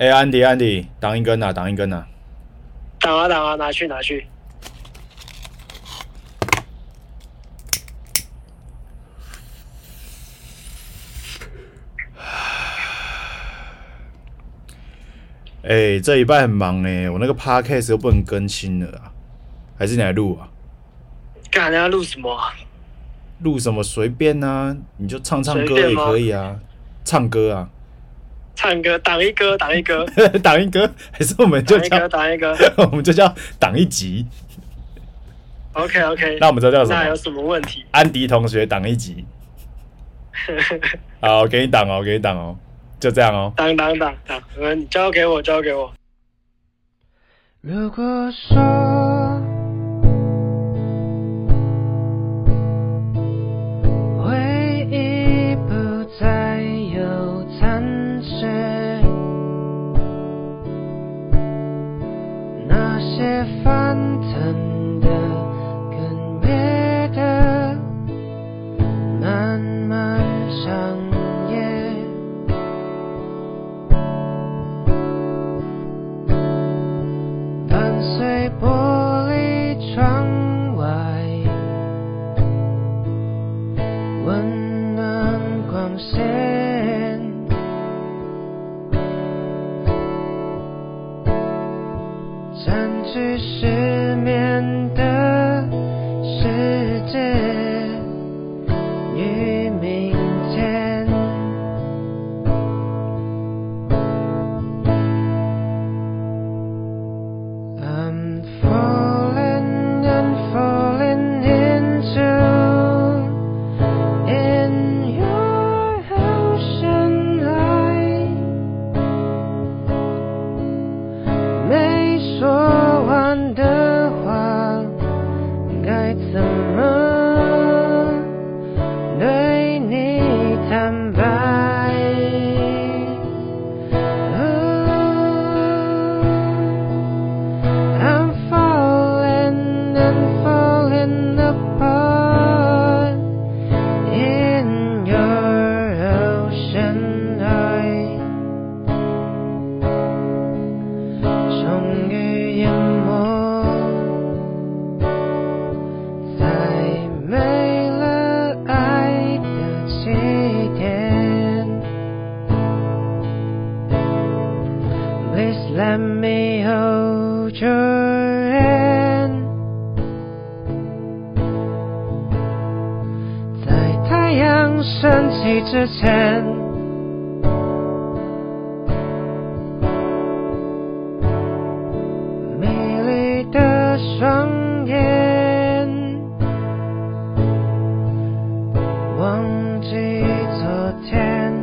安迪，擋一根啊，擋一根啊！ 擋啊，拿去。 這禮拜很忙我那個 podcast 又不能更新了啊，還是你來錄啊？ 幹，你要錄什麼啊？ 錄什麼隨便啊，你就唱歌也可以啊，唱歌啊。 唱歌，擋一歌， 擋一歌，還是我們就叫擋一歌， 我們就叫擋一集。 OK， 那我們知道叫什麼？ 那有什麼問題？ 安迪同學擋一集。好，給你擋哦，就這樣哦。 擋，你交給我。 如果說回憶不再有殘缺，那些翻騰的跟灭的漫漫长夜，伴隨玻璃窗外溫暖光線，佔據失眠的世界與明天。I'm falling and falling into in your ocean eye， 没說完的話該怎麼對你坦白？I'm falling and falling apart in your ocean eye， 終於淹沒在沒了愛的起點。Please let me hold your hand， 在太陽升起之前，美麗的雙眼，忘記昨天，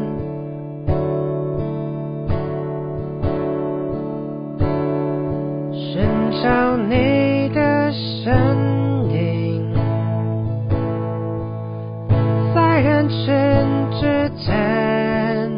尋找你的身影，在人群之間，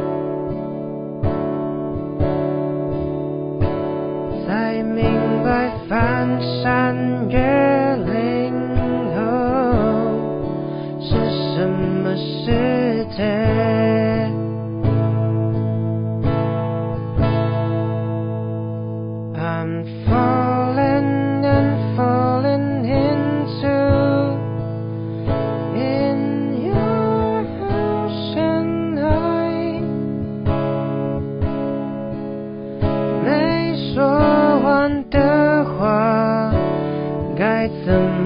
才明白翻山越嶺後是什麼世界。I'm falling and falling into in your ocean eye， 沒說完的話該怎麼